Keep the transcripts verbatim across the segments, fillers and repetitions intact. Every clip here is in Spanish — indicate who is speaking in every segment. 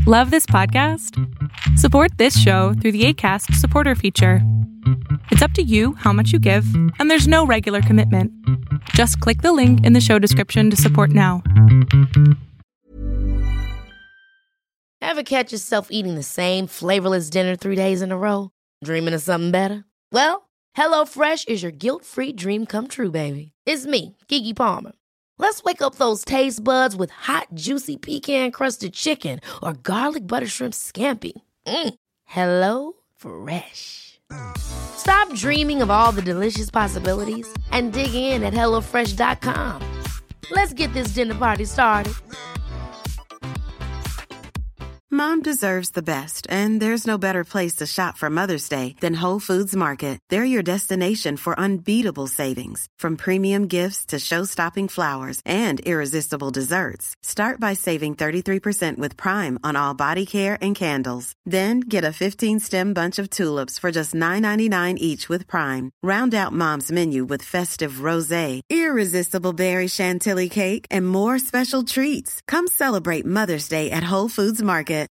Speaker 1: Love this podcast? Support this show through the Acast supporter feature. It's up to you how much you give, and there's no regular commitment. Just click the link in the show description to support now.
Speaker 2: Ever catch yourself eating the same flavorless dinner three days in a row? Dreaming of something better? Well, HelloFresh is your guilt-free dream come true, baby. It's me, Keke Palmer. Let's wake up those taste buds with hot, juicy pecan-crusted chicken or garlic butter shrimp scampi. Mm. Hello Fresh. Stop dreaming of all the delicious possibilities and dig in at hello fresh dot com. Let's get this dinner party started.
Speaker 3: Mom deserves the best, and there's no better place to shop for Mother's Day than Whole Foods Market. They're your destination for unbeatable savings, from premium gifts to show-stopping flowers and irresistible desserts. Start by saving thirty-three percent with Prime on all body care and candles. Then get a fifteen-stem bunch of tulips for just nine ninety-nine each with Prime. Round out Mom's menu with festive rosé, irresistible berry chantilly cake, and more special treats. Come celebrate Mother's Day at Whole Foods Market.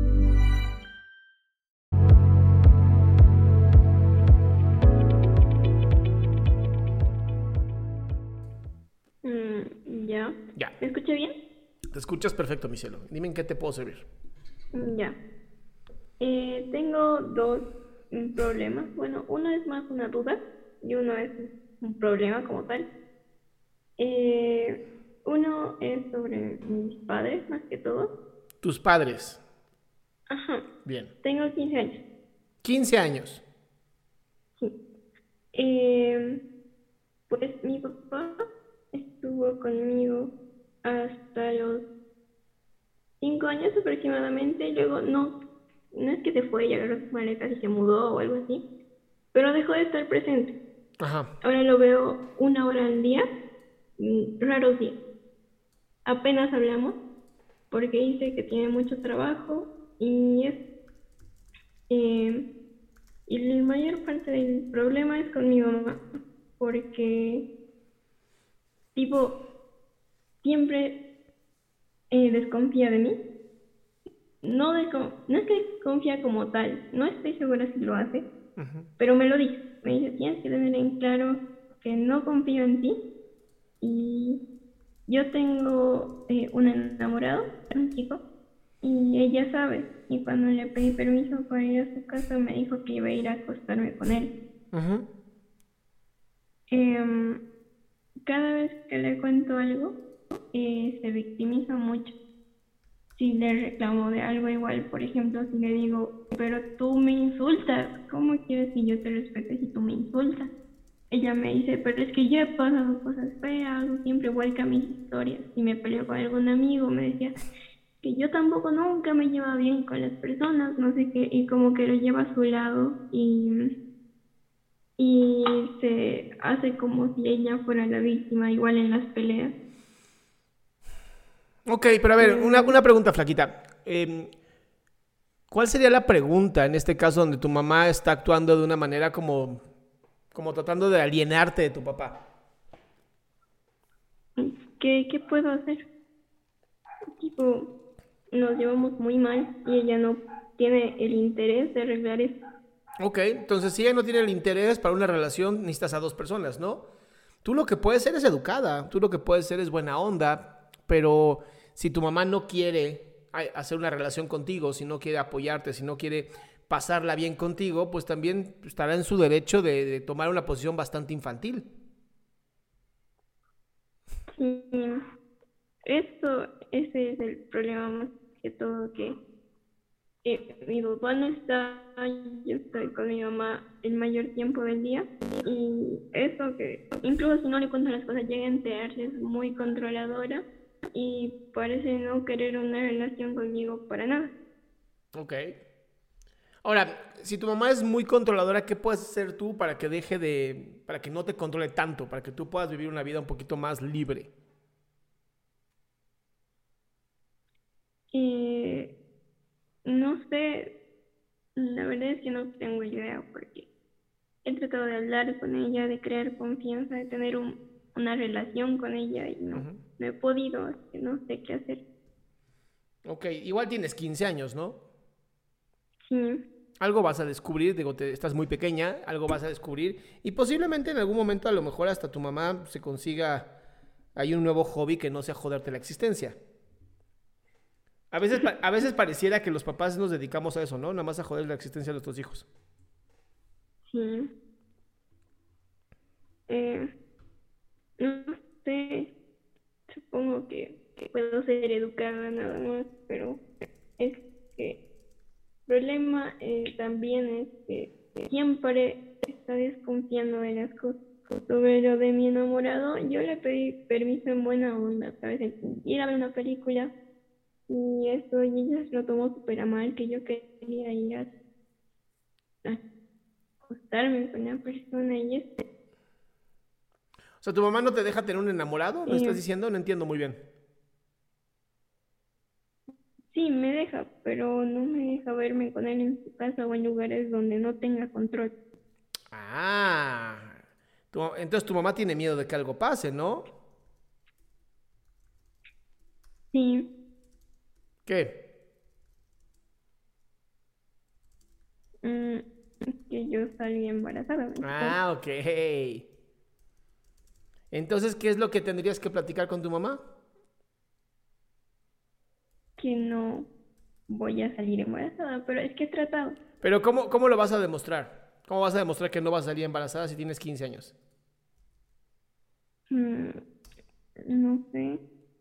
Speaker 4: Mm, ya.
Speaker 5: Ya.
Speaker 4: ¿Me escucha bien?
Speaker 5: Te escuchas perfecto, mi cielo. Dime en qué te puedo servir.
Speaker 4: Mm, Ya. Eh, tengo dos mm, problemas. Bueno, uno es más una duda y uno es un problema como tal. Eh, uno es sobre mis padres, más que todo.
Speaker 5: Tus padres.
Speaker 4: Ajá.
Speaker 5: Bien.
Speaker 4: Tengo quince años.
Speaker 5: quince años.
Speaker 4: Sí. Eh, pues mi papá estuvo conmigo hasta los cinco años aproximadamente. Luego no, no es que se fue y agarró sus maletas y se mudó o algo así, pero dejó de estar presente.
Speaker 5: Ajá.
Speaker 4: Ahora lo veo una hora al día, mm, raros días. Apenas hablamos porque dice que tiene mucho trabajo y es eh, y la mayor parte del problema es con mi mamá, porque tipo siempre eh, desconfía de mí. No, de, no es que confía como tal, no estoy segura si lo hace,
Speaker 5: Uh-huh.
Speaker 4: pero me lo dice. Me dice, tienes que tener en claro que no confío en ti. Y yo tengo eh, un enamorado, un chico, y ella sabe. Y cuando le pedí permiso para ir a su casa, me dijo que iba a ir a acostarme con él.
Speaker 5: Uh-huh.
Speaker 4: Eh, cada vez que le cuento algo, eh, se victimiza mucho. Si le reclamo de algo igual, por ejemplo, si le digo, pero tú me insultas, ¿cómo quieres que yo te respete si tú me insultas? Ella me dice, pero es que yo he pasado cosas feas, o siempre vuelca mis historias. Si me peleo con algún amigo, me decía que yo tampoco nunca me llevo bien con las personas, no sé qué, y como que lo lleva a su lado y, y se hace como si ella fuera la víctima, igual en las peleas.
Speaker 5: Ok, pero a ver, una, una pregunta, flaquita. Eh, ¿Cuál sería la pregunta en este caso donde tu mamá está actuando de una manera como, como tratando de alienarte de tu papá?
Speaker 4: ¿Qué, qué puedo hacer? Tipo, nos llevamos muy mal y ella no tiene el interés de arreglar eso.
Speaker 5: Ok, entonces si ella no tiene el interés para una relación, necesitas a dos personas, ¿no? Tú lo que puedes ser es educada, tú lo que puedes ser es buena onda, pero si tu mamá no quiere hacer una relación contigo, si no quiere apoyarte, si no quiere pasarla bien contigo, pues también estará en su derecho de, de tomar una posición bastante infantil.
Speaker 4: Sí, esto, ese es el problema más que todo, que eh, mi papá no está, yo estoy con mi mamá el mayor tiempo del día, y eso que incluso si no le cuento las cosas llega a enterarse, es muy controladora y parece no querer una relación conmigo para nada.
Speaker 5: Ok. Ahora, si tu mamá es muy controladora, ¿qué puedes hacer tú para que deje de, para que no te controle tanto, para que tú puedas vivir una vida un poquito más libre?
Speaker 4: Eh, no sé, la verdad es que no tengo idea, porque he tratado de hablar con ella, de crear confianza, de tener un, una relación con ella y no,
Speaker 5: Uh-huh.
Speaker 4: no he podido, así que no sé qué hacer.
Speaker 5: Ok, igual tienes quince años, ¿no?
Speaker 4: Sí.
Speaker 5: Algo vas a descubrir, digo, te, estás muy pequeña, algo vas a descubrir y posiblemente en algún momento a lo mejor hasta tu mamá se consiga hay un nuevo hobby que no sea joderte la existencia. A veces, pa- a veces pareciera que los papás nos dedicamos a eso, ¿no? Nada más a joder la existencia de nuestros hijos.
Speaker 4: Sí. Eh, no sé, supongo que, que puedo ser educada nada más, pero es que el problema eh, también es que siempre está desconfiando de las cosas. Sobre lo de mi enamorado, yo le pedí permiso en buena onda, ¿sabes? En ir a ver una película y eso, y ella se lo tomó súper a mal, que yo quería ir a, a acostarme con una persona y eso.
Speaker 5: O sea, ¿tu mamá no te deja tener un enamorado? ¿Me
Speaker 4: Sí.
Speaker 5: estás diciendo? No entiendo muy bien.
Speaker 4: Sí, me deja, pero no me deja verme con él en su casa o en lugares donde no tenga control.
Speaker 5: Ah, tu- entonces tu mamá tiene miedo de que algo pase, ¿no?
Speaker 4: Sí,
Speaker 5: ¿Qué?
Speaker 4: mm, es que yo salí embarazada, ¿me entiendes?
Speaker 5: Ah, ok. Entonces, ¿qué es lo que tendrías que platicar con tu mamá?
Speaker 4: Que no voy a salir embarazada, pero es que he tratado.
Speaker 5: Pero ¿cómo, cómo lo vas a demostrar? ¿Cómo vas a demostrar que no vas a salir embarazada si tienes quince años?
Speaker 4: Mm, no sé.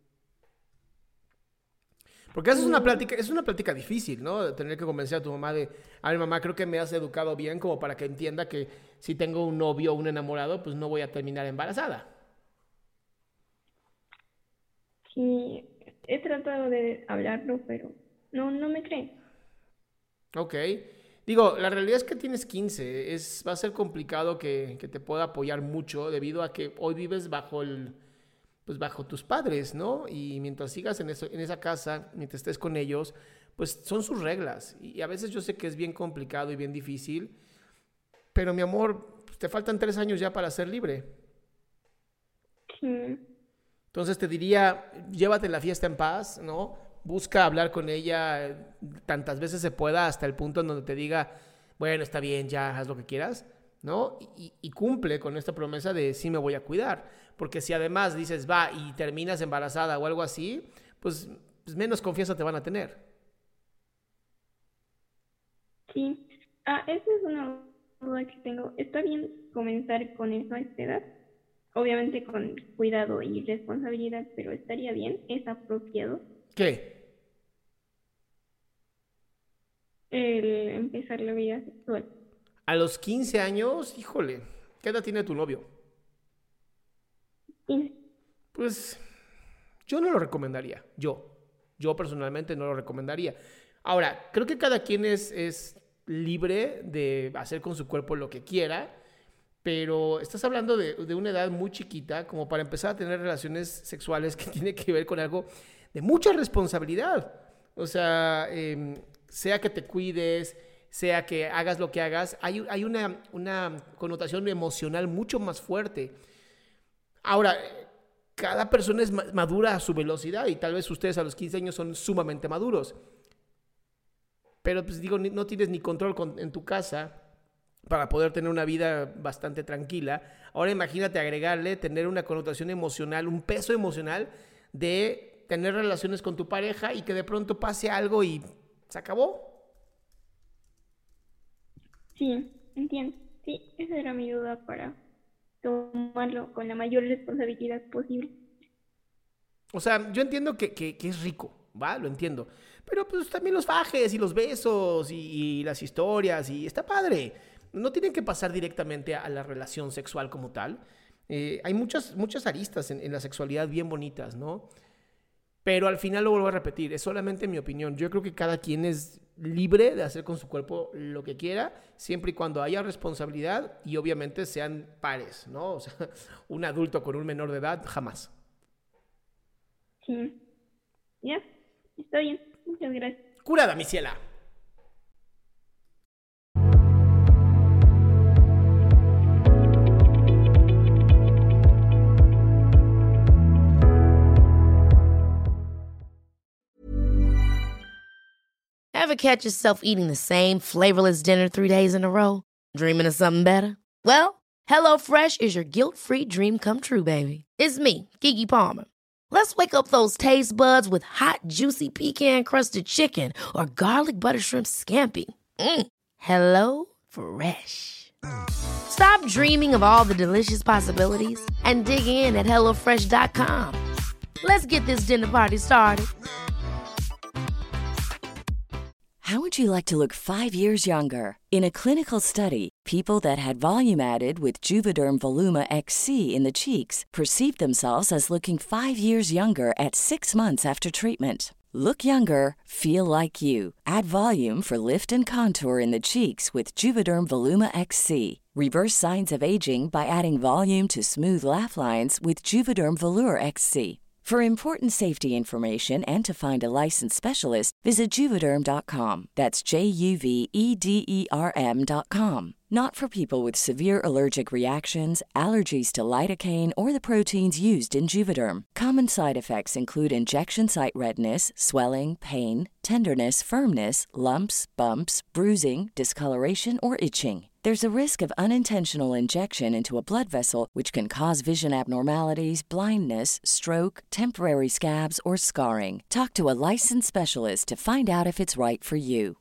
Speaker 5: Porque eso es una plática, es una plática difícil, ¿no? De tener que convencer a tu mamá de, a ver, mamá, creo que me has educado bien como para que entienda que si tengo un novio o un enamorado, pues no voy a terminar embarazada.
Speaker 4: Sí, he tratado de hablarlo, pero no, no me cree.
Speaker 5: Ok. Digo, la realidad es que tienes quince. Es, va a ser complicado que, que te pueda apoyar mucho debido a que hoy vives bajo el, pues bajo tus padres, ¿no? Y mientras sigas en, eso, en esa casa, mientras estés con ellos, pues son sus reglas. Y a veces yo sé que es bien complicado y bien difícil, pero mi amor, pues te faltan tres años ya para ser libre.
Speaker 4: Sí,
Speaker 5: Entonces te diría, llévate la fiesta en paz, ¿no? Busca hablar con ella eh, tantas veces se pueda hasta el punto en donde te diga, bueno, está bien, ya haz lo que quieras, ¿no? Y, y cumple con esta promesa de sí me voy a cuidar. Porque si además dices, va, y terminas embarazada o algo así, pues, pues menos confianza te van a tener.
Speaker 4: sí. Ah, esa es una duda que tengo. ¿Está bien comenzar con eso a esta edad? Obviamente con cuidado y responsabilidad, pero ¿estaría bien? ¿Es apropiado
Speaker 5: ¿Qué?
Speaker 4: el empezar la vida sexual?
Speaker 5: A los quince años, híjole, ¿qué edad tiene tu novio?
Speaker 4: Sí,
Speaker 5: Pues yo no lo recomendaría, yo. Yo personalmente no lo recomendaría. Ahora, creo que cada quien es, es libre de hacer con su cuerpo lo que quiera, pero estás hablando de, de una edad muy chiquita como para empezar a tener relaciones sexuales que tiene que ver con algo de mucha responsabilidad. O sea, eh, sea que te cuides, sea que hagas lo que hagas, hay, hay una, una connotación emocional mucho más fuerte. Ahora, cada persona es madura a su velocidad y tal vez ustedes a los quince años son sumamente maduros. Pero pues digo, no tienes ni control con, en tu casa para poder tener una vida bastante tranquila. Ahora imagínate agregarle, tener una connotación emocional, un peso emocional de tener relaciones con tu pareja y que de pronto pase algo y se acabó.
Speaker 4: sí, entiendo. Sí, esa era mi duda para tomarlo con la mayor responsabilidad posible.
Speaker 5: O sea, yo entiendo que, que, que es rico, ¿va? Lo entiendo. Pero pues también los fajes y los besos y, y las historias y está padre. No tienen que pasar directamente a la relación sexual como tal. Eh, hay muchas, muchas aristas en, en la sexualidad bien bonitas, ¿no? Pero al final lo vuelvo a repetir, es solamente mi opinión. Yo creo que cada quien es libre de hacer con su cuerpo lo que quiera, siempre y cuando haya responsabilidad y obviamente sean pares, ¿no? O sea, un adulto con un menor de edad, jamás.
Speaker 4: Sí, ya, está bien. Muchas gracias.
Speaker 5: Curada, mi ciela.
Speaker 2: Ever catch yourself eating the same flavorless dinner three days in a row? Dreaming of something better? Well, HelloFresh is your guilt-free dream come true, baby. It's me, Keke Palmer. Let's wake up those taste buds with hot, juicy pecan-crusted chicken or garlic butter shrimp scampi. Mm. Hello Fresh. Stop dreaming of all the delicious possibilities and dig in at hello fresh dot com. Let's get this dinner party started.
Speaker 6: How would you like to look five years younger? In a clinical study, people that had volume added with Juvederm Voluma X C in the cheeks perceived themselves as looking five years younger at six months after treatment. Look younger, feel like you. Add volume for lift and contour in the cheeks with Juvederm Voluma X C. Reverse signs of aging by adding volume to smooth laugh lines with Juvederm Volure X C. For important safety information and to find a licensed specialist, visit Juvederm dot com. That's J U V E D E R M dot com. Not for people with severe allergic reactions, allergies to lidocaine, or the proteins used in Juvederm. Common side effects include injection site redness, swelling, pain, tenderness, firmness, lumps, bumps, bruising, discoloration, or itching. There's a risk of unintentional injection into a blood vessel, which can cause vision abnormalities, blindness, stroke, temporary scabs, or scarring. Talk to a licensed specialist to find out if it's right for you.